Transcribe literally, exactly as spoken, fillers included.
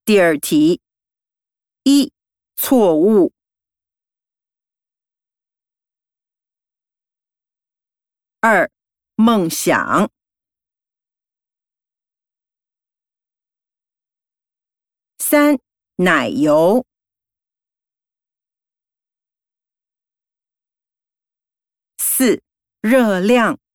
第二题，一、错误。二、梦想。三、奶油。四、热量。